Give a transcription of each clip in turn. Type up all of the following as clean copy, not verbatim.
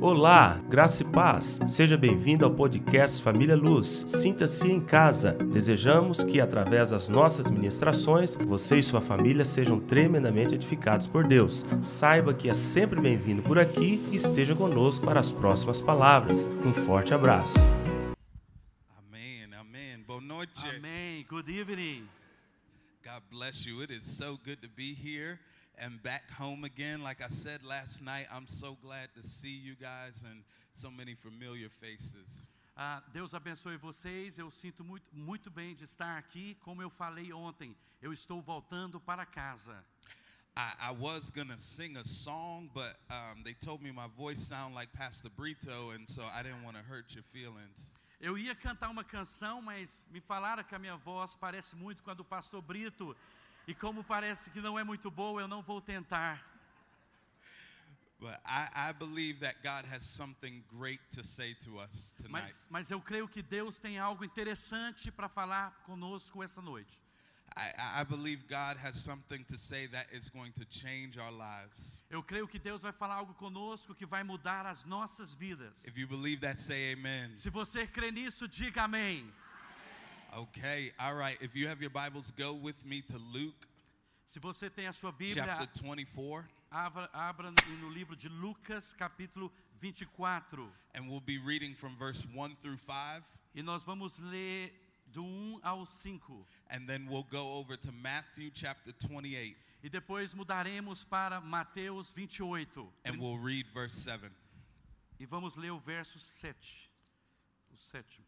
Olá, graça e paz. Seja bem-vindo ao podcast Família Luz. Sinta-se em casa. Desejamos que, através das nossas ministrações, você e sua família sejam tremendamente edificados por Deus. Saiba que é sempre bem-vindo por aqui e esteja conosco para as próximas palavras. Um forte abraço. Amém, amém. Boa noite. Amen. Good evening. God bless you. It is so good to be here and back home again. Like I said last night, I'm so glad to see you guys and so many familiar faces. Deus abençoe vocês. Eu sinto muito bem de estar aqui. Como eu falei ontem, eu estou voltando para casa. I was going to sing a song, but they told me my voice sounded like Pastor Brito, and so I didn't want to hurt your feelings. Eu ia cantar uma canção, mas me falaram que a minha voz parece muito com a do pastor Brito. E como parece que não é muito boa, eu não vou tentar. But I believe that God has something great to say to us tonight. Mas eu creio que Deus tem algo interessante para falar conosco essa noite. I believe God has something to say that is going to change our lives. Eu creio que Deus vai falar algo conosco que vai mudar as nossas vidas. If you believe that, say amen. Se você crê nisso, diga amém. Okay, all right. If you have your Bibles, go with me to Luke Se você tem a sua Bíblia, chapter 24. abra no livro de Lucas, capítulo 24. And we'll be reading from verse 1 through 5. E nós vamos ler do 1 ao 5. And then we'll go over to Matthew chapter 28. E depois mudaremos para Mateus 28. And we'll read verse 7. E vamos ler o verso 7. O 7.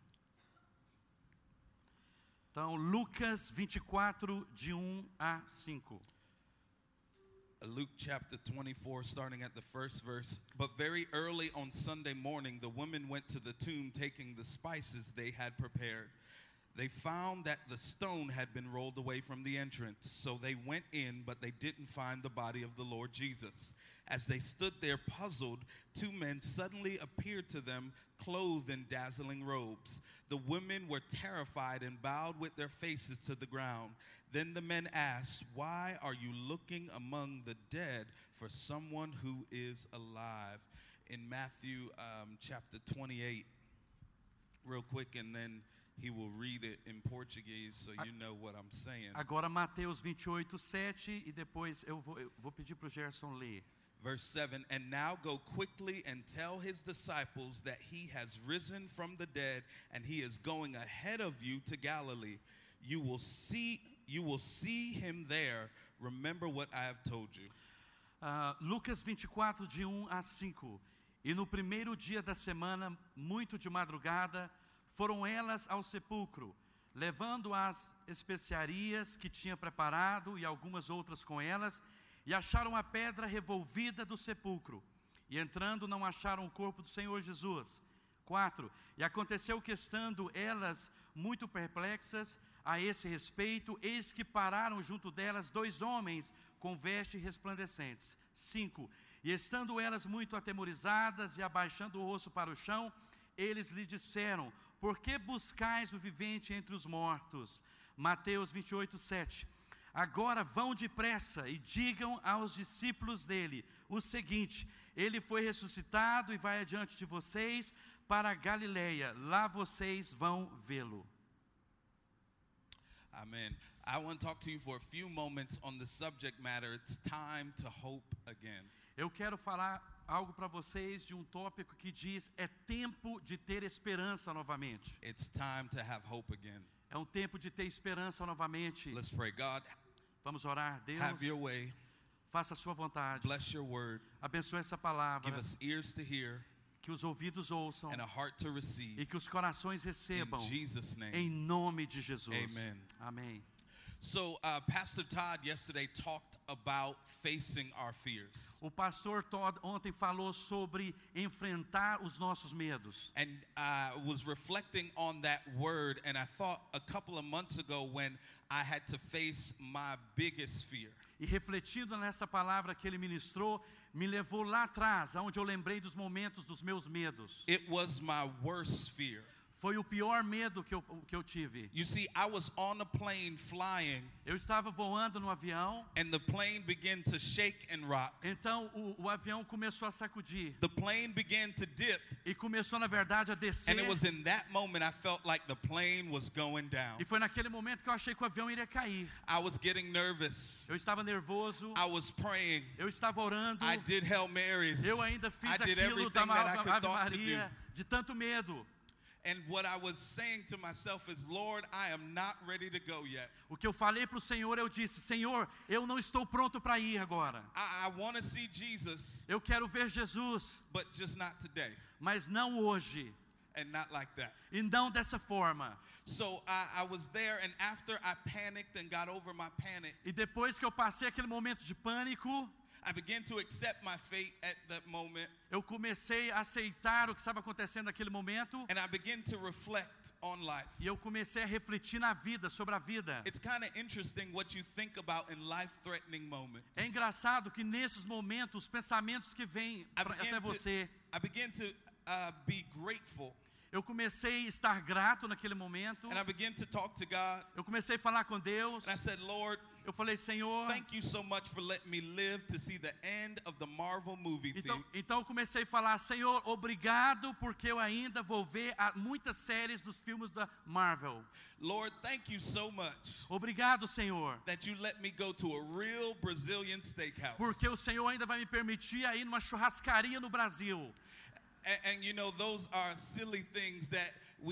Então, Lucas 24, de 1 a 5. Luke chapter 24, starting at the first verse. But very early on Sunday morning, the women went to the tomb taking the spices they had prepared. They found that the stone had been rolled away from the entrance. So they went in, but they didn't find the body of the Lord Jesus. As they stood there puzzled, two men suddenly appeared to them, clothed in dazzling robes. The women were terrified and bowed with their faces to the ground. Then the men asked, "Why are you looking among the dead for someone who is alive?" In Matthew chapter 28, real quick, and then he will read it in Portuguese so you know what I'm saying. Agora Mateus 28, 7 e depois eu vou pedir para o Gerson ler. Verse 7, and now go quickly and tell his disciples that he has risen from the dead and he is going ahead of you to Galilee. You will see him there. Remember what I have told you. Lucas 24, de 1 a 5. E no primeiro dia da semana, muito de madrugada, foram elas ao sepulcro, levando as especiarias que tinha preparado e algumas outras com elas, e acharam a pedra revolvida do sepulcro. E entrando, não acharam o corpo do Senhor Jesus. 4. E aconteceu que, estando elas muito perplexas a esse respeito, eis que pararam junto delas dois homens com vestes resplandecentes. 5. E estando elas muito atemorizadas e abaixando o rosto para o chão, eles lhe disseram: por que buscais o vivente entre os mortos? Mateus 28, 7. Agora vão depressa e digam aos discípulos dele o seguinte: ele foi ressuscitado e vai adiante de vocês para a Galileia. Lá vocês vão vê-lo. Amen. I want to talk to you for a few moments on the subject matter. It's time to hope again. Eu quero falar algo para vocês de um tópico que diz: é tempo de ter esperança novamente. It's time to have hope again. É um tempo de ter esperança novamente. Let's pray. God, vamos orar. Deus, have your way. Faça a sua vontade. Bless your word. Abençoe essa palavra. Give us ears to hear que os ouvidos ouçam and a heart to receive. e que os corações recebam. In Jesus' name. Em nome de Jesus. Amen. Amém. So, Pastor Todd yesterday talked about facing our fears. O pastor Todd ontem falou sobre enfrentar os nossos medos. And I was reflecting on that word, and I thought a couple of months ago when I had to face my biggest fear. E refletindo nessa palavra que ele ministrou, me levou lá atrás, onde eu lembrei dos momentos dos meus medos. It was my worst fear. Foi o pior medo que eu tive. You see, I was on a plane flying, Eu estava voando no avião, and the plane began to shake and rock. então o avião começou a sacudir. The plane began to dip, E começou, na verdade, a descer. and it was in that moment I felt like the plane was going down. E foi naquele momento que eu achei que o avião iria cair. I was getting nervous. Eu estava nervoso, I was praying. eu estava orando, I did Hail Marys. eu ainda fiz I did aquilo da everything that I could Ave thought to Maria, de tanto medo. And what I was saying to myself is, Lord, I am not ready to go yet. O que eu falei para o Senhor, eu disse: Senhor, eu não estou pronto para ir agora. I want to see Jesus, Eu quero ver Jesus, but just not today, mas não hoje. and not like that. E não dessa forma. So I was there, and after I panicked and got over my panic, E depois que eu passei aquele momento de pânico, I began to accept my fate at that moment, eu comecei a aceitar o que estava acontecendo naquele momento. and I began to reflect on life. E eu comecei a refletir na vida, sobre a vida. It's kind of interesting what you think about in life-threatening moments. É engraçado que nesses momentos, os pensamentos que vêm até você, I began to be grateful, eu comecei a estar grato naquele momento. and I began to talk to God, Eu comecei a falar com Deus. and I said, Lord, Eu falei: Senhor, thank you so much for letting me live to see the end of the Marvel movie thing. então eu comecei a falar: Senhor, obrigado, porque eu ainda vou ver muitas séries dos filmes da Marvel. Lord, thank you so much Obrigado, Senhor, that you let me go to a real Brazilian steakhouse. porque o Senhor ainda vai me permitir ir numa churrascaria no Brasil. And you know, those are silly things that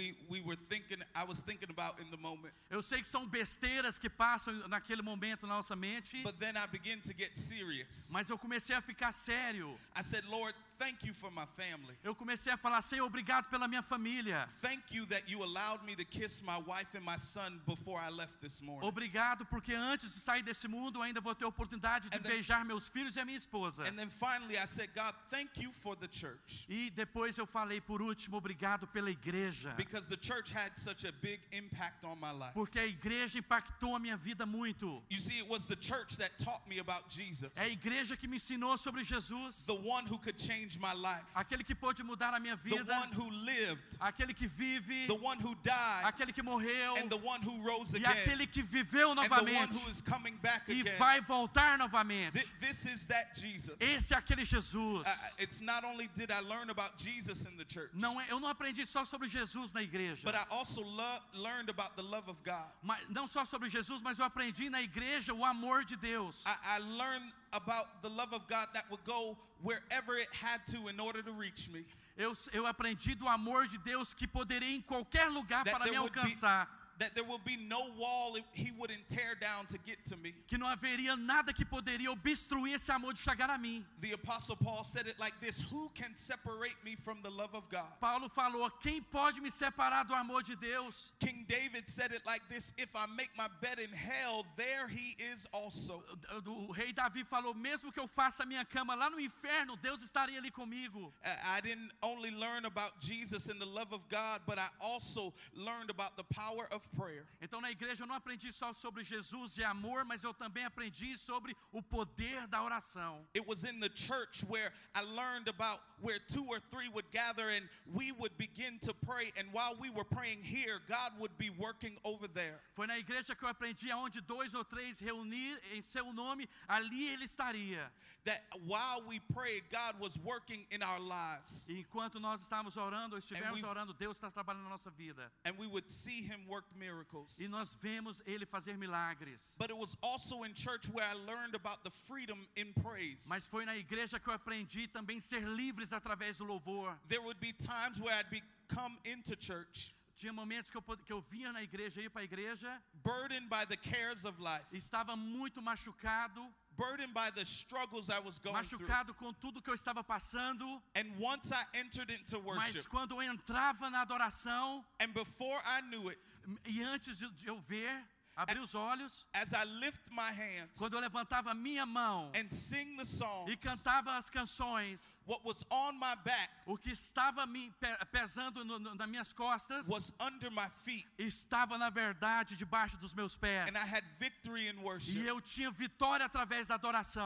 I was thinking about in the moment. Eu sei que são besteiras que passam naquele momento na nossa mente, But then I began to get serious. mas eu comecei a ficar sério. I said, Lord, thank you for my family. Eu comecei a falar: Senhor, obrigado pela minha família. Thank you that you allowed me to kiss my wife and my son before I left this morning. Obrigado, porque antes de sair desse mundo eu ainda vou ter a oportunidade de beijar meus filhos e a minha esposa. And then finally I said, God, thank you for the church. E depois eu falei, por último, obrigado pela igreja. Because the church had such a big impact on my life. Porque a igreja impactou a minha vida muito. You see, it was the church that taught me about Jesus. É a igreja que me ensinou sobre Jesus. The one who could change my life. Aquele que pôde mudar a minha The vida. one who lived. Aquele que vive. The one who died. Aquele que morreu. And the one who rose E again. aquele que viveu And the one novamente. who is coming back E again. vai voltar novamente. This is that Jesus. Esse é aquele Jesus. It's not only did I learn about Jesus in the church, Eu não aprendi só sobre Jesus na igreja. but I also learned about the love of God. Não só sobre Jesus, mas eu aprendi na igreja o amor de Deus. I learned about the love of God that would go wherever it had to in order to reach me. Eu aprendi do amor de Deus que poderia ir em qualquer lugar That para me there would be- alcançar. That there will be no wall he wouldn't tear down to get to me. Que não haveria nada que poderia obstruir esse amor de chegar a mim. The Apostle Paul said it like this: who can separate me from the love of God? Paulo falou: quem pode me separar do amor de Deus? King David said it like this: if I make my bed in hell, there he is also. O rei Davi falou: mesmo que eu faça a minha cama lá no inferno, Deus estaria ali comigo. I didn't only learn about Jesus and the love of God, but I also learned about the power of prayer. Então na igreja eu não aprendi só sobre Jesus e amor, mas eu também aprendi sobre o poder da oração. It was in the church where I learned about where 2 or 3 would gather and we would begin to pray, and while we were praying here, God would be working over there. Foi na igreja que eu aprendi aonde 2 ou 3 reunir em seu nome, ali ele estaria. That while we prayed, God was working in our lives. E enquanto nós estávamos orando, ou estivermos orando, Deus está trabalhando na nossa vida. And we would see him work miracles. E nós vemos ele fazer milagres. But it was also in church where I learned about the freedom in praise. Mas foi na igreja que eu aprendi também ser livres através do louvor. There would be times where I'd come into church. Tinha momentos que eu vinha na igreja, ia para a igreja, burdened by the cares of life. Estava muito machucado. Burdened by the struggles I was going Machucado com tudo que eu estava passando. And once I entered into worship, mas quando eu entrava na adoração, and before I knew it, e antes de eu ver, abrir os olhos, as I lift my hands, quando eu levantava a minha mão and sing the songs, e cantava as canções, what was on my back, o que estava me pesando nas minhas costas, was under my feet, estava na verdade debaixo dos meus pés. and I had victory in worship. E eu tinha vitória através da adoração.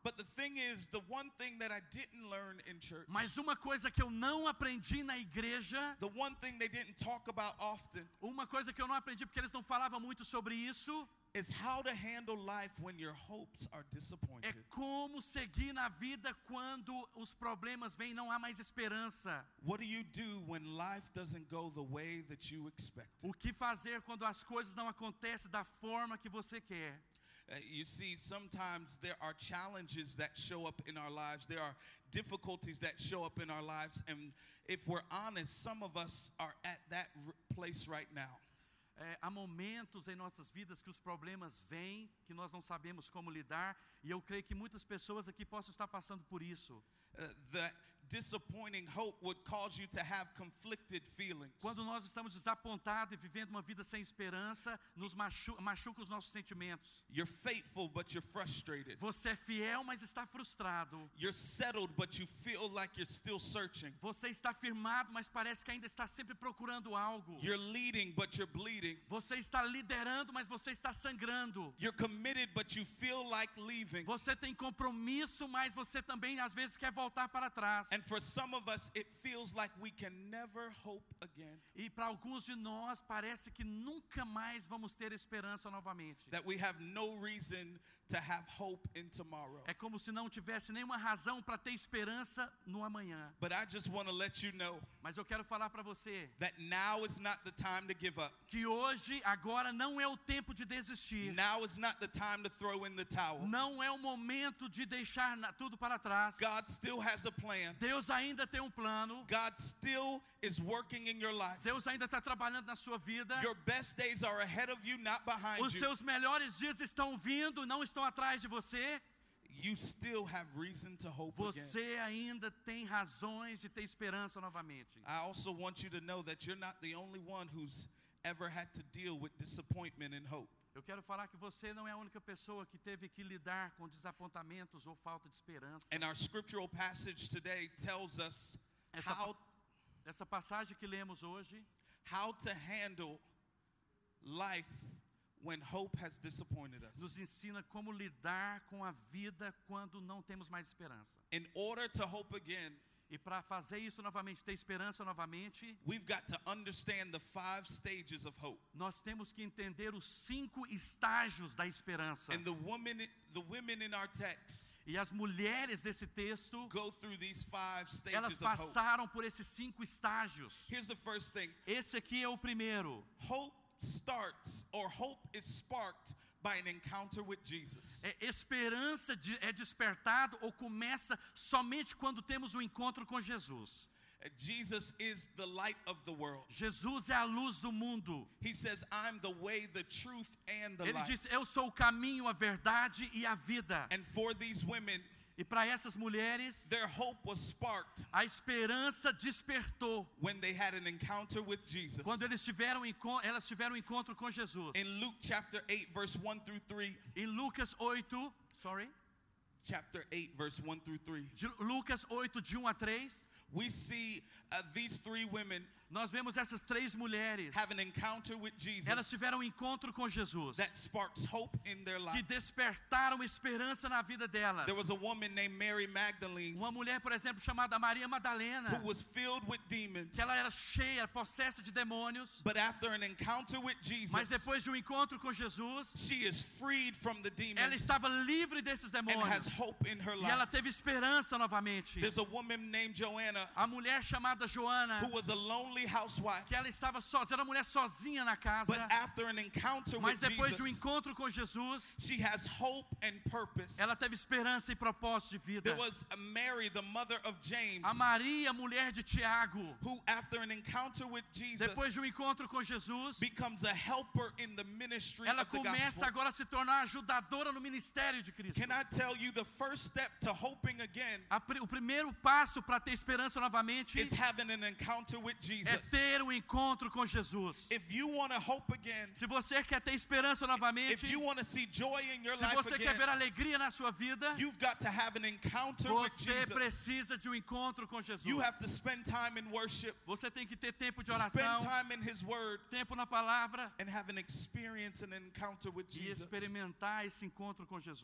But the thing is, the one thing that I didn't learn in church, Mas uma coisa que eu não aprendi na igreja, the one thing they didn't talk about often, uma coisa que eu não aprendi porque eles não falavam muito sobre isso, is how to handle life when your hopes are é disappointed. como seguir na vida quando os problemas vêm e não há mais esperança. What do you do when life doesn't go the way that you expect? O que fazer quando as coisas não acontecem da forma que você quer? You see, sometimes there are challenges that show up in our lives. There are difficulties that show up in our lives. And if we're honest, some of us are at that place right now. Há momentos em nossas vidas que os problemas vêm, que nós não sabemos como lidar, e eu creio que muitas pessoas aqui possam estar passando por isso. That disappointing hope would cause you to have conflicted feelings. Quando nós estamos desapontados e vivendo uma vida sem esperança, nos machuca os nossos sentimentos. You're faithful, but you're frustrated. Você é fiel, mas está frustrado. You're settled, but you feel like you're still searching. Você está firmado, mas parece que ainda está sempre procurando algo. You're leading, but you're bleeding. Você está liderando, mas você está sangrando. You're committed, but you feel like leaving. Você tem compromisso, mas você também às vezes quer voltar para trás. And for some of us, it feels like we can never hope again. E para alguns de nós parece que nunca mais vamos ter esperança novamente. That we have no reason to have hope in tomorrow. É como se não tivesse nenhuma razão para ter esperança no amanhã. But I just want to let you know Mas eu quero falar para você that now is not the time to give up. que hoje, agora não é o tempo de desistir. Now is not the time to throw in the towel. Não é o momento de deixar tudo para trás. God still has a plan. Deus ainda tem um plano. God still is working in your life. Deus ainda está trabalhando na sua vida. Your best days are ahead of you, not behind Os you. seus melhores dias estão vindo, não estão atrás de você. You still have reason to hope again. Você ainda tem razões de ter esperança novamente. I also want you to know that you're not the only one who's ever had to deal with disappointment and hope. Eu quero falar que você não é a única pessoa que teve que lidar com desapontamentos ou falta de esperança. And our scriptural passage today tells us Essa passagem que lemos hoje, how to handle life when hope has disappointed us. nos ensina como lidar com a vida quando não temos mais esperança. In order to hope again, E para fazer isso novamente, ter esperança novamente, we've got to understand the 5 stages of hope. nós temos que entender os 5 estágios da esperança. And the women in our text E as mulheres desse texto, go through these 5 stages elas of hope. passaram por esses 5 estágios. Here's the first thing. Esse aqui é o primeiro. Hope starts, or hope is sparked by an encounter with Jesus. Esperança é despertado ou começa somente quando temos um encontro com Jesus. Jesus is the light of the world. Jesus é a luz do mundo. He says, I'm the way, the truth, and the Ele life. diz, eu sou o caminho, a verdade e a vida. And for these women, E para essas mulheres, their hope was sparked a esperança despertou when they had an encounter with Jesus. quando elas tiveram um encontro com Jesus. In Luke chapter 8, verse 1 through 3, Em Lucas 8, chapter 8, verse 1 through 3, Lucas 8, de 1 a 3, we see these 3 women nós vemos essas 3 mulheres. have an encounter with Jesus Elas tiveram um encontro com Jesus, that sparks hope in their que life. despertaram esperança na vida delas. There was a woman named Mary Magdalene Uma mulher, por exemplo, chamada Maria Madalena, who was filled with demons, que ela era cheia, possessa de demônios, but after an encounter with mas Jesus, depois de um encontro com Jesus, she is freed from the ela demons estava livre desses and has demônios. hope in her E ela life. teve esperança novamente. There's a woman named Joanna A mulher chamada Joana, who was a lonely housewife, que ela estava sozinha, era uma mulher sozinha na casa, but after an encounter mas with depois de um Jesus, encontro com Jesus, she has hope and purpose. ela teve esperança e propósito de vida. There was a Mary, the mother of James, A Maria, mulher de Tiago, who after an encounter with Jesus depois de um encontro com Jesus, becomes a helper in the ministry ela of the começa gospel. agora a se tornar ajudadora no ministério de Cristo. Can I tell you the first step to hoping again O primeiro passo para ter esperança novamente is having an encounter with é Jesus. ter um encontro com Jesus. If you want to hope again, Se você quer ter esperança novamente, if you want to see joy in your se life você quer again, ver alegria na sua vida, you've got to have an encounter with você Jesus. precisa de um encontro com Jesus. You have to spend time in worship, Você tem que ter tempo de spend oração, time in His Word, tempo na palavra and have an experience and encounter with e Jesus. experimentar esse encontro com Jesus.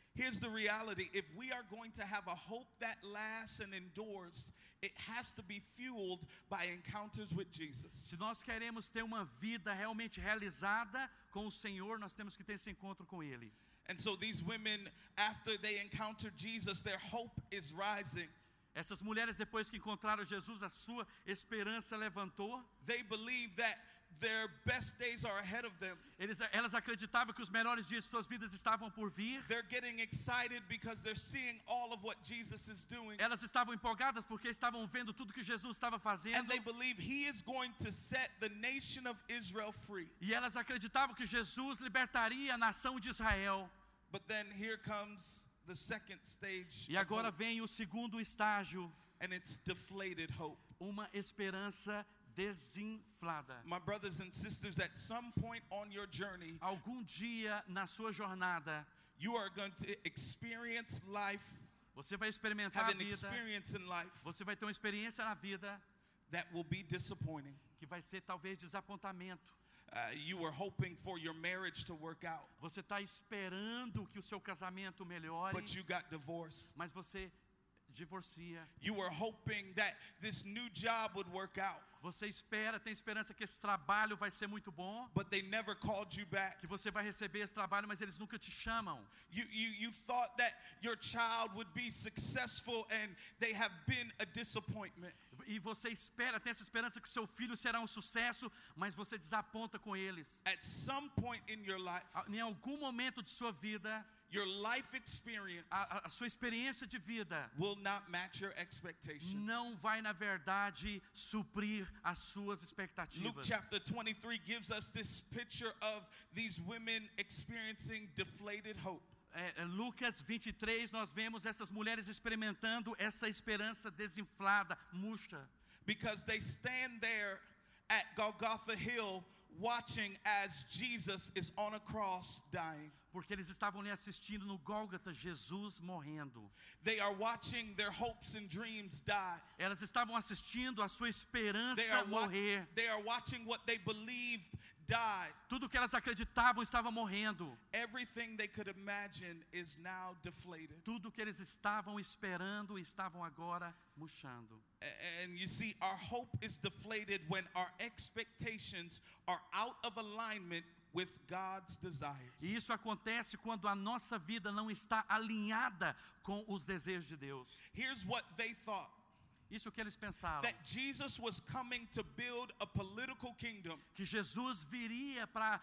Here's the reality. If we are going to have a hope that lasts and endures, it has to be fueled by encounters with Jesus. Se nós queremos ter uma vida realmente realizada com o Senhor, nós temos que ter esse encontro com Ele. And so these women, after they encountered Jesus, their hope is rising. Essas mulheres, depois que encontraram Jesus, a sua esperança levantou. They believe that their best days are ahead of them. Elas acreditavam que os melhores dias de suas vidas estavam por vir. They're getting excited because they're seeing all of what Jesus is doing. Elas estavam empolgadas porque estavam vendo tudo que Jesus estava fazendo. And they believe he is going to set the nation of Israel free. E elas acreditavam que Jesus libertaria a nação de Israel. But then here comes the second stage E of agora hope, vem o segundo estágio, and it's deflated hope. uma esperança desinflada. My brothers and sisters, at some point on your journey, Algum dia na sua jornada, you are going to experience life, você vai experimentar have a an vida, experience in life você vai ter uma experiência na vida that will be disappointing. que vai ser talvez desapontamento. You were hoping for your marriage to work out, Você está esperando que o seu casamento melhore, but you got divorced. mas você divorcia. You were hoping that this new job would work out, Você espera, tem esperança que esse trabalho vai ser muito bom, but they never called you back. que você vai receber esse trabalho, mas eles nunca te chamam. You thought that your child would be successful, and they have been a disappointment. E você espera, tem essa esperança que seu filho será um sucesso, mas você desaponta com eles. At some point in your life, Em algum momento de sua vida, your life experience a sua experiência de vida will not match your expectation. não vai, na verdade, suprir as suas Luke expectativas. chapter 23 gives us this picture of these women experiencing deflated hope. Lucas 23, nós vemos essas mulheres experimentando essa esperança desinflada, murcha. Because they stand there at Golgotha Hill watching as Jesus is on a cross dying. Porque eles estavam ali assistindo no Gólgota, Jesus morrendo. They are watching their hopes and dreams die. Elas estavam assistindo a sua esperança They are morrer. watching what they believed die. Tudo que elas acreditavam estava morrendo. Everything they could imagine is now deflated. Tudo que eles estavam esperando estavam agora murchando. And you see, our hope is deflated when our expectations are out of alignment with God's desires. E isso acontece quando a nossa vida não está alinhada com os desejos de Deus. Here's what they thought. Isso que eles pensavam. That Jesus was coming to build a political kingdom. Que Jesus viria para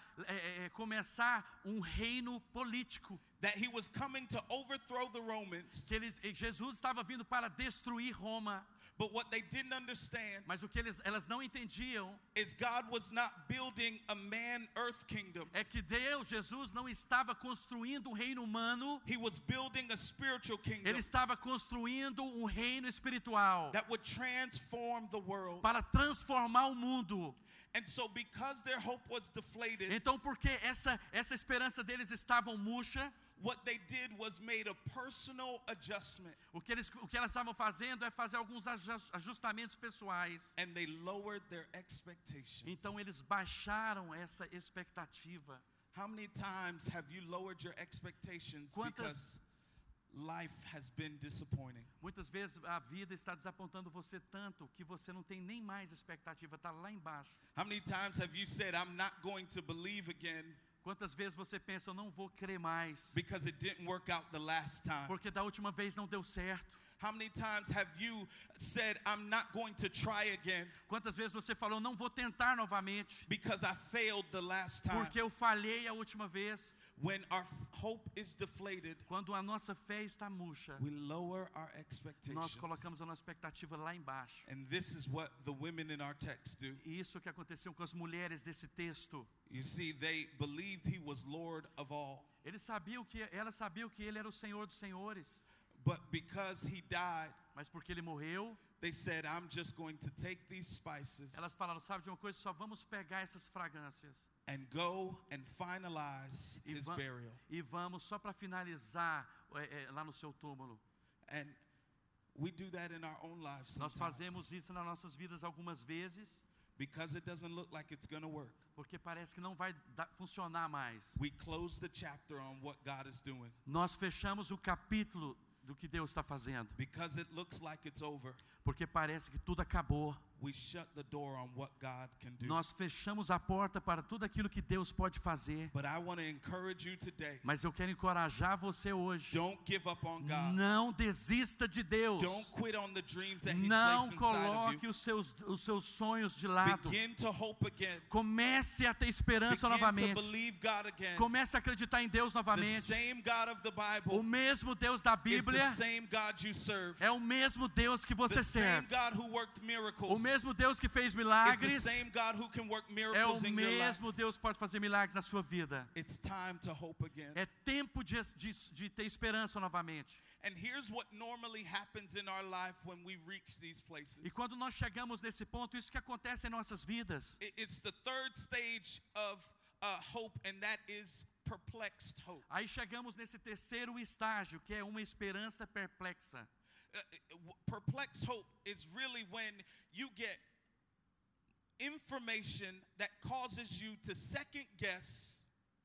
começar um reino político. That he was coming to overthrow the Romans. Que Jesus estava vindo para destruir Roma. But what they didn't understand Mas o que elas não entendiam is God was not building a man-earth kingdom. é que Jesus não estava construindo um reino humano. He was building a spiritual kingdom. Ele estava construindo um reino espiritual That would transform the world. para transformar o mundo. And so because their hope was deflated, Então, porque essa esperança deles estava murcha, what they did was made a personal adjustment. o que elas estavam fazendo é fazer alguns ajustamentos pessoais. And they lowered their expectations. Então eles baixaram essa expectativa. How many times have you lowered your expectations because life has been disappointing? Muitas vezes a vida está desapontando você tanto que você não tem nem mais expectativa, está lá embaixo. How many times have you said, I'm not going to believe again Quantas vezes você pensa, eu não vou crer mais, because it didn't work out the last time? porque da última vez não deu certo? How many times have you said, I'm not going to try again Quantas vezes você falou, não vou tentar novamente, because I failed the last time? porque eu falhei a última vez? When our hope is deflated, Quando a nossa fé está murcha, we lower our nós expectations. colocamos a nossa expectativa lá embaixo. And this is what the women in our text do. E isso que aconteceu com as mulheres desse texto. You see, they believed he was Lord of all. Elas sabiam que ele era o Senhor dos senhores, But because he died, mas porque ele morreu, they said, I'm just going to take these spices elas falaram, sabe de uma coisa, só vamos pegar essas fragrâncias and go and finalize e, his burial. e vamos só para finalizar lá no seu túmulo. And we do that in our own lives Nós sometimes. fazemos isso nas nossas vidas algumas vezes. Because it doesn't look like it's going to work. Porque parece que não vai funcionar mais. We close the chapter on what God is doing. Nós fechamos o capítulo do que Deus está fazendo. Because it looks like it's over. Porque parece que tudo acabou. We shut the door on what God can do. Nós fechamos a porta para tudo aquilo que Deus pode fazer. But I want to encourage you today. Mas eu quero encorajar você hoje. Don't give up on God. Não desista de Deus. Don't quit on the dreams that He's Não placed inside of coloque you. os seus sonhos de lado. Begin to hope again. Comece a ter esperança Begin novamente. to believe God again. Comece a acreditar em Deus The novamente. same God of the Bible O mesmo Deus da is the Bíblia same God you serve. é o mesmo Deus que você The same serve. God who worked miracles O mesmo Deus que fez is the milagres same God who can work é o miracles in your life. mesmo Deus que pode fazer milagres na sua vida. It's time to hope again. É tempo de ter esperança novamente. And here's what normally happens in our life when we reach these places. E quando nós chegamos nesse ponto, isso que acontece em nossas vidas. It's the third stage of hope, and that is perplexed hope. Aí chegamos nesse terceiro estágio, que é uma esperança perplexa. Perplexed hope is really when you get information that causes you to second guess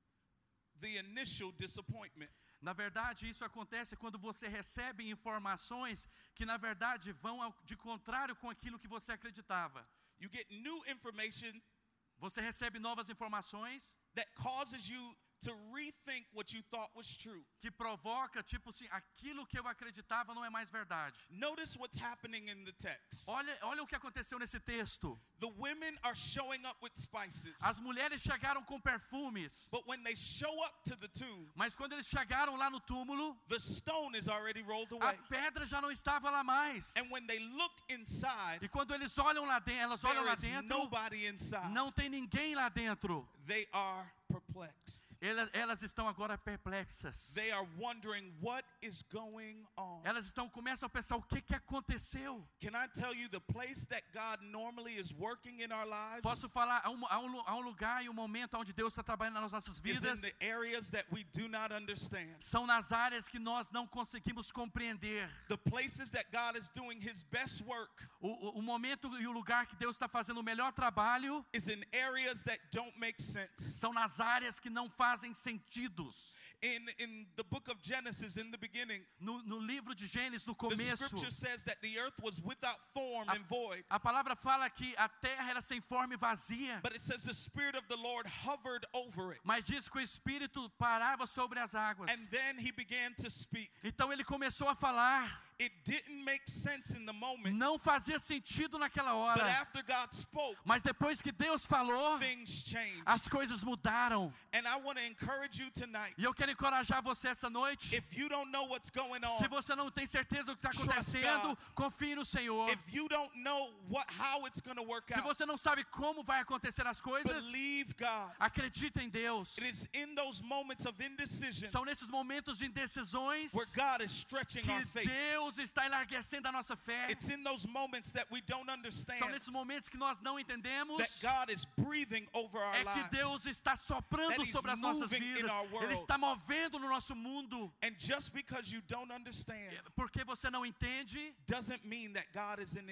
the initial disappointment. Na verdade, isso acontece quando você recebe informações que, na verdade, vão de contrário com aquilo que você acreditava. You get new information Você recebe novas informações that causes you to rethink what you thought was true. que provoca, tipo assim, aquilo que eu acreditava não é mais verdade. Notice what's happening in the text. Olha o que aconteceu nesse texto. The women are showing up with spices. As mulheres chegaram com perfumes, But when they show up to the tomb, mas quando eles chegaram lá no túmulo, the stone is already rolled a away. pedra já não estava lá mais. And when they look inside, E quando eles olham lá dentro, elas olham lá there is dentro, nobody inside. não tem ninguém lá dentro. They are perplexed. Elas estão agora perplexas. They are wondering what is going on. Elas começam a pensar o que aconteceu. Can I tell you the place that God normally is working in our lives Posso falar, há um lugar e um momento onde Deus está trabalhando nas nossas is in vidas. the areas that we do not understand. São nas áreas que nós não conseguimos compreender. The places that God is doing His best work O momento e o lugar que Deus está fazendo o melhor trabalho is in areas that don't make sense. são nas áreas que não fazem sentidos. In the book of Genesis, in the beginning, No livro de Gênesis, no the começo, scripture says that the earth was without form and void. a palavra fala que a terra era sem forma e vazia. But it says the Spirit of the Lord hovered over it. Mas diz que o Espírito parava sobre as águas. And then He began to speak. Então ele começou a falar. It didn't make sense in the moment. Não fazia sentido naquela But hora. after God spoke, Mas depois que Deus falou, things changed. as coisas mudaram. And I want to encourage you tonight. E eu quero encorajar você essa noite. If you don't know what's going Se on, você não tem certeza do que está Trust acontecendo, God. confie no Senhor. if you don't know how it's going to work Se out, você não sabe como vai acontecer as coisas, believe God. acredita em Deus. It is in those moments of indecision São nesses momentos de indecisões where God is stretching our que faith. Deus está enlarguecendo a nossa fé. It's in those moments that we don't São understand nesses momentos que nós não entendemos that God is breathing over our é que lives. Deus está soprando That He's sobre as nossas moving in vidas. our world. Ele está movendo no nosso mundo. And just because you don't understand Porque você não entende, doesn't mean that God isn't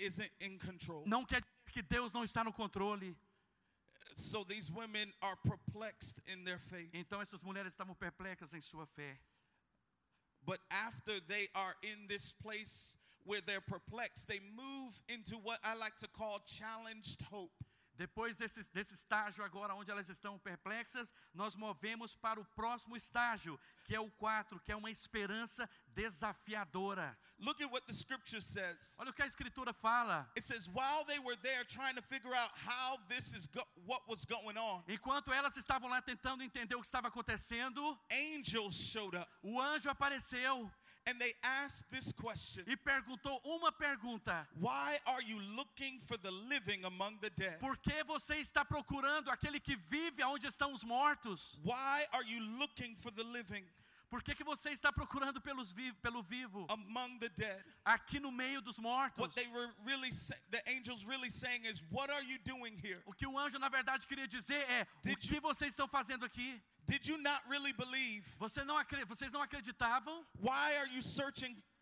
in control. não quer dizer que Deus não está no controle. So these women are perplexed in their faith. Então essas mulheres estavam perplexas em sua fé. But after they are in this place where they're perplexed, they move into what I like to call challenged hope. Depois desse estágio agora, onde elas estão perplexas, nós movemos para o próximo estágio, que é o 4, que é uma esperança desafiadora. Look at what the scripture says. Olha o que a Escritura fala. It says, while they were there trying to figure out how this is what was going on, Enquanto elas estavam lá tentando entender o que estava acontecendo, angels showed up o anjo apareceu and they asked this question: e perguntou uma pergunta. why are you looking for the living among the dead? Por que você está procurando aquele que vive onde estão os mortos? Why are you looking for the living Por que você está procurando pelo vivo among the dead? aqui no meio dos mortos? What they were really the angels really saying is, what are you doing here? O que o anjo na verdade queria dizer é: o que vocês estão fazendo aqui? Did you not really believe? Vocês não acreditavam? Why are you searching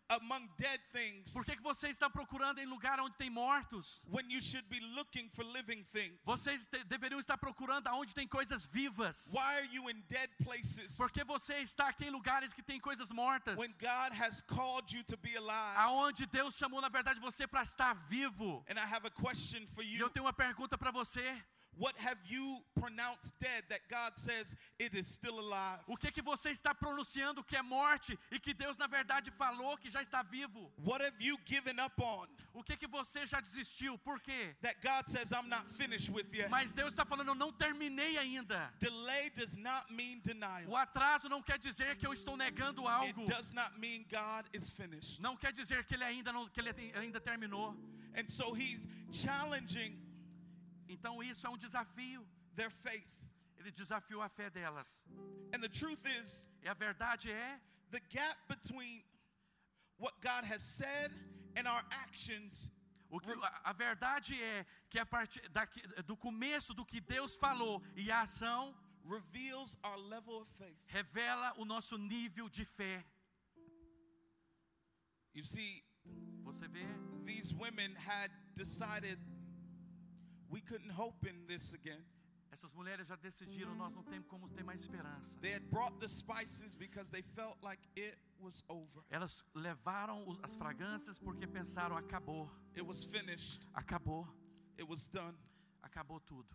among dead things Por que você está procurando em lugar onde tem mortos? when you should be looking for living things? Vocês deveriam estar procurando aonde tem coisas vivas. Why are you in dead places Por que você está aqui em lugares que tem coisas mortas? when God has called you to be alive? Aonde Deus chamou na verdade você para estar vivo. And I have a question for E you. eu tenho uma pergunta para você. What have you pronounced dead that God says it is still alive? O que você está pronunciando que é morte e que Deus na verdade falou que já está vivo? What have you given up on O que você já desistiu? Por quê? that God says I'm not finished with yet? Mas Deus está falando, eu não terminei ainda. Delay does not mean denial. O atraso não quer dizer que eu estou negando algo. It does not mean God is finished. Não quer dizer que ele ainda terminou. And so he's challenging Então isso é um desafio. their faith. Ele desafiou a fé delas. And the truth is, E a verdade é, the gap between what God has said and our actions a verdade é que a partir do começo do que Deus falou e a ação reveals our level of faith. revela o nosso nível de fé. You see, Você vê? these women had decided we couldn't hope in this again. Essas mulheres já decidiram, nós não temos como ter mais esperança. They had brought the spices because they felt like it was over. Elas levaram as fragrâncias porque pensaram, acabou, It was finished. acabou, It was done. acabou tudo.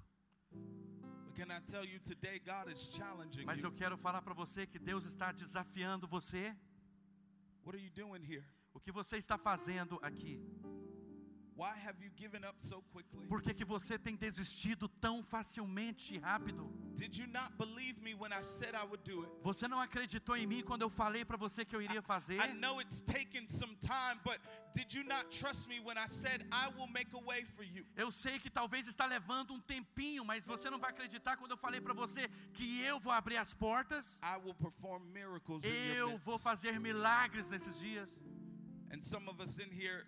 But can I tell you today, God is challenging Mas you. eu quero falar para você que Deus está desafiando você. What are you doing here? O que você está fazendo aqui? Why have you given up so quickly? Por que você tem desistido tão facilmente e rápido? Did you not believe me when I said I would do it? Você não acreditou em mim quando eu falei para você que eu iria fazer? I know it's taken some time, but did you not trust me when I said I will make a way for you? Eu sei que talvez está levando um tempinho, mas você não vai acreditar quando eu falei para você que eu vou abrir as portas. I will perform miracles in your Eu vou midst. fazer milagres nesses dias. And some of us in here,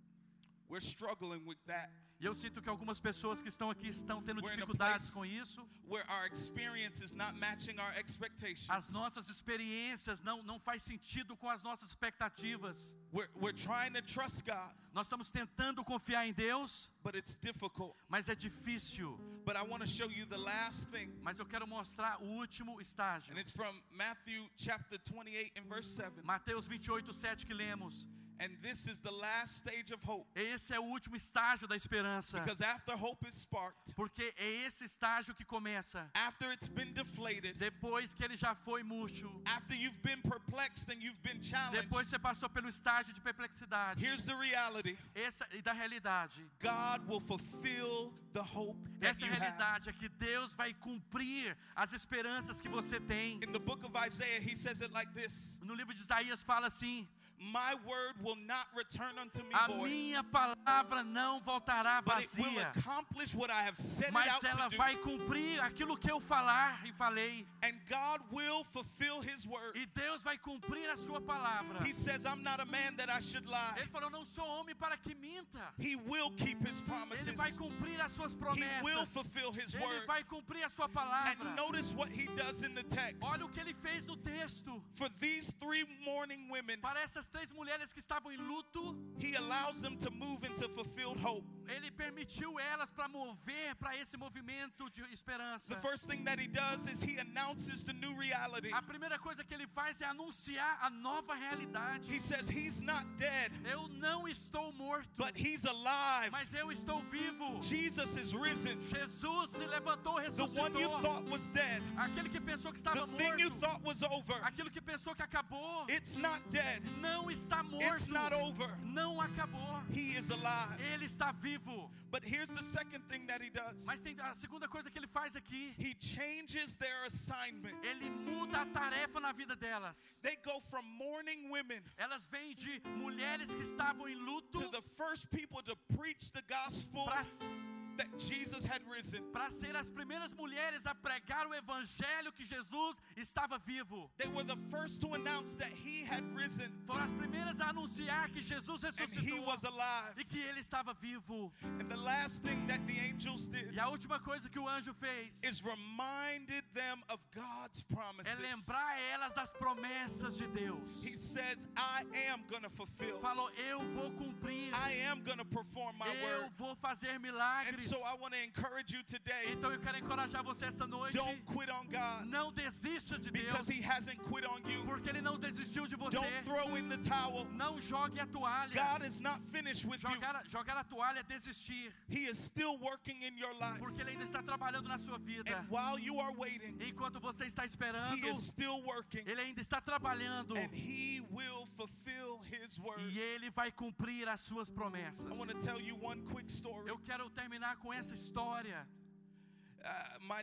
we're struggling with that. E eu sinto que algumas pessoas que estão aqui estão tendo We're in a dificuldades place com isso. where our experience is not matching our expectations. As nossas experiências não faz sentido com as nossas expectativas. We're trying to trust God, Nós estamos tentando confiar em Deus, but it's difficult. mas é difícil. But I want to show you the last thing. Mas eu quero mostrar o último estágio. And it's from Matthew chapter 28 and verse 7. Mateus 28:7 que lemos. And this is the last stage of hope. Esse é o último estágio da esperança. Because after hope is sparked, Porque é esse estágio que começa after it's been deflated, depois que ele já foi murcho. after you've been perplexed and you've been challenged, Depois você passou pelo estágio de perplexidade. here's the reality. E da realidade. God will fulfill the hope that Essa you have. realidade é que Deus vai cumprir as esperanças que você tem. In the book of Isaiah, he says it like this. No livro de Isaías fala assim: My word will not return unto me a void, minha palavra não voltará but it will vazia, accomplish what I have set it mas out ela to do. vai cumprir aquilo que eu falar e falei. And God will fulfill his word. E Deus vai cumprir a sua palavra. He says, I'm not a man that I should lie. Ele falou: não sou homem para que minta. He will keep his promises. Ele vai cumprir as suas He will promessas. fulfill his Ele word. vai cumprir a sua palavra. And notice what he does in the text. Olha o que ele fez no texto. For these three mourning women, Para essas três mulheres que estavam em luto, he allows them to move into fulfilled hope. ele permitiu elas para mover para esse movimento de esperança. The first thing that he does is he announces the new reality. A primeira coisa que ele faz é anunciar a nova realidade. He says he's not dead, Eu não estou morto, but he's alive. mas eu estou vivo. Jesus is risen. Jesus se levantou, The one you ressuscitou. thought was dead, Aquele que pensou que the estava thing you morto, thought was over, aquilo que pensou que acabou, it's not dead. não está It's morto, not over. não acabou. He is alive. Ele está vivo. But here's the second thing that he does. Mas tem a segunda coisa que ele faz aqui. He changes their assignment. Ele muda a tarefa na vida delas. They go from mourning women Elas vêm de mulheres que estavam em luto to the first people to preach the gospel that Jesus had risen. Para ser as primeiras mulheres a pregar o evangelho que Jesus estava vivo. They were the first to announce that he had risen Foram as primeiras a anunciar que Jesus and he ressuscitou was alive. e que ele estava vivo. And the last thing that the angels did E a última coisa que o anjo fez is reminded them of God's é promises. lembrar elas das promessas de Deus. He says, I am going to fulfill. Falou, eu vou cumprir, I am going to perform my eu word. vou fazer And milagres. so I want to encourage you today, Então eu quero encorajar você essa noite. don't quit on God Não desista de Deus, because he hasn't quit on you. porque Ele não desistiu de você. Don't throw in the towel. Não jogue a toalha. God is not finished with you. Jogar a toalha é desistir, He is still working in your life. porque Ele ainda está trabalhando na sua vida. And while you are waiting, Enquanto você está he esperando, is still working. Ele ainda está trabalhando And he will fulfill his word. e Ele vai cumprir as suas promessas. I want to tell you one quick story. Eu quero terminar com essa história. My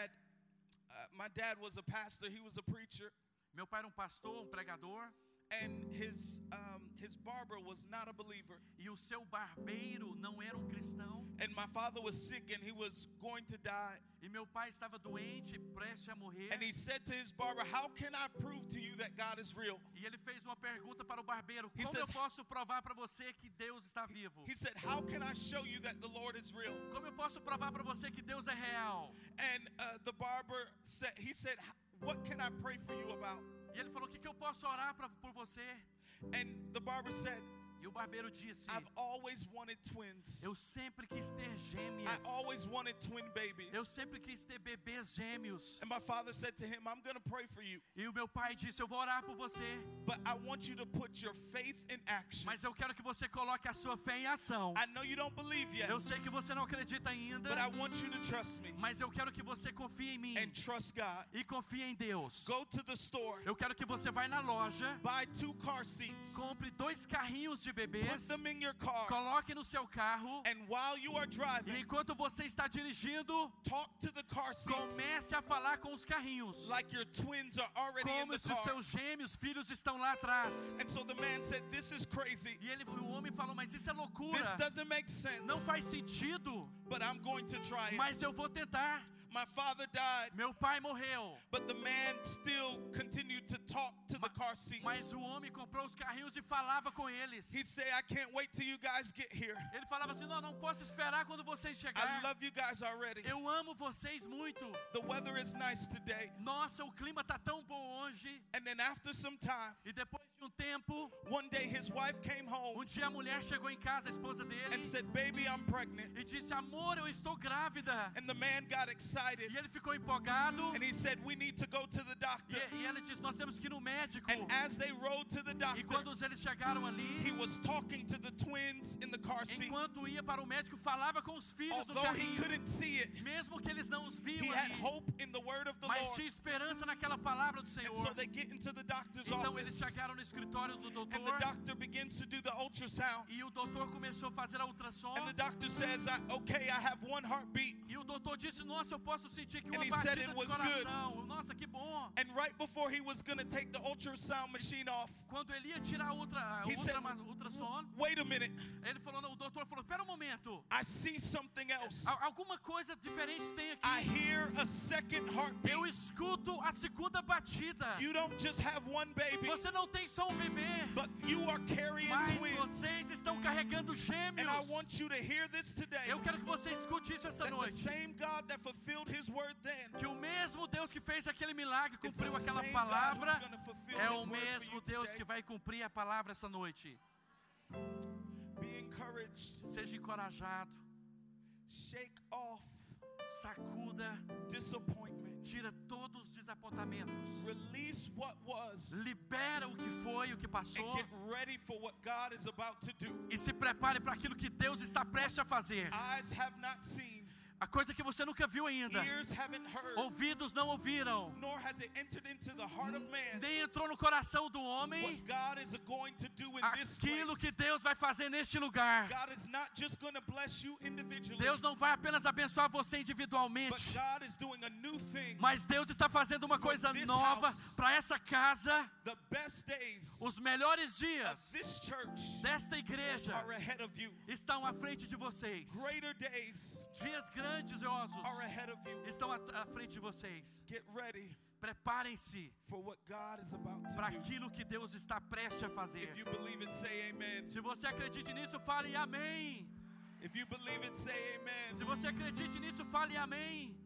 dad was a pastor. He was a preacher. Meu pai era pastor, pregador, And his barber was not a believer. e o seu barbeiro não era cristão. And my father was sick and he was going to die. E meu pai estava doente, prestes a morrer. And he said to his barber, how can I prove to you that God is real? E ele fez uma pergunta para o barbeiro: He como eu says- posso provar para você que Deus está vivo? He said, how can I show you that the Lord is real? Como eu posso provar para você que Deus é real? And the barber said, what can I pray for you about? E ele falou: o que eu posso orar por você? And the barber said, E o barbeiro disse: I've always wanted twins. eu sempre quis ter I gêmeas. always wanted twin babies. Eu sempre quis ter bebês gêmeos. And my father said to him, I'm going to pray for you, E o meu pai disse: eu vou orar por você, but I want you to put your faith in action. mas eu quero que você coloque a sua fé em ação. I know you don't believe yet, Eu sei que você não acredita ainda, but I want you to trust me mas eu quero que você confie em mim and trust God. e confie em Deus. Go to the store, Eu quero que você vá na loja, buy 2 car seats, compre 2 carrinhos de put bebês, them in your car, coloque no seu carro, and while you are e driving, enquanto você está dirigindo, talk to the car seats comece a falar com os carrinhos, like your twins are already in como the se os car. seus gêmeos filhos estão lá atrás. And so the man said, this is crazy. E o homem falou: mas isso é loucura, This doesn't make sense, não faz sentido, but I'm going to try it. mas eu vou tentar. My father died, Meu pai morreu, but the man still continued to talk to the car seats. mas o homem comprou os carrinhos e falava com eles. He'd say, I can't wait till you guys get here. Ele falava assim: não posso esperar quando vocês I chegarem. love you guys already. Eu amo vocês muito. The weather is nice today. Nossa, o clima tá tão bom hoje. And then after some time, E depois de tempo, one day his wife came home dia a mulher chegou em casa, a esposa dele, and said, baby, I'm pregnant. e disse: amor, eu estou grávida. And the man got excited E ele ficou empolgado. and he said, we need to go to the doctor. E ela disse: nós temos que ir no médico. And as they rode to the E doctor, quando eles chegaram ali, he was talking to the twins in the car seat. enquanto ia para o médico, falava com os filhos do Although he carrinho. couldn't see it, Mesmo que eles não os he viam had ali, hope in the word of the mas Lord. tinha esperança naquela palavra do And Senhor. so they get into the doctor's Então eles office chegaram no escritório do and the doutor, doctor begins to do the ultrasound. e o doutor começou a fazer a ultrassom. And the doctor says, okay, I have 1 heartbeat. E o doutor disse: nossa, eu posso sentir aqui And uma he said batida it de was coração. Nossa, que bom. And right before he was going to take the ultrasound machine off, Quando ele ia tirar a He said, ultrassom, wait a minute, ele falou: não, o doutor falou: espera um momento, I see something else. alguma coisa diferente tem aqui. I hear a second heartbeat. Eu escuto a segunda batida. You don't just have 1 baby, Você não tem só bebê, but you are carrying mas twins. vocês estão carregando And I gêmeos. want you to hear this today. Eu quero que você escute isso essa That the noite. same God that fulfilled his word then Que o mesmo Deus que fez aquele milagre, is the cumpriu aquela same God palavra, who's going to fulfill é his o word for mesmo you Deus today. que vai cumprir a palavra essa noite. Be encouraged. Seja encorajado, Shake off sacuda, disappointment. tira todos os desapontamentos. Release what was Libera o que foi, o que and passou, get ready for what God is about to do. e se prepare para aquilo que Deus está prestes a fazer. Eyes have not seen, A coisa que você nunca viu ainda. ears haven't heard, Ouvidos não ouviram. nor has it entered into the heart of man, Nem entrou no coração do homem. what God is going to do in this Aquilo que place. Deus vai fazer neste lugar. God is not just going to bless you individually, Deus não vai apenas abençoar você but individualmente. God is doing a new thing. Mas Deus está fazendo uma coisa nova para essa casa. The best days Os melhores of dias this church desta igreja are ahead of you. estão à frente de vocês. Greater days Dias grandiosos are ahead of you. estão à frente de vocês. Get ready Preparem-se for what God is about para to do. aquilo que Deus está prestes a fazer. If you believe it, say amen. Se você acredita nisso, fale amém. If you believe it, say amen. Se você acredita nisso, fale amém.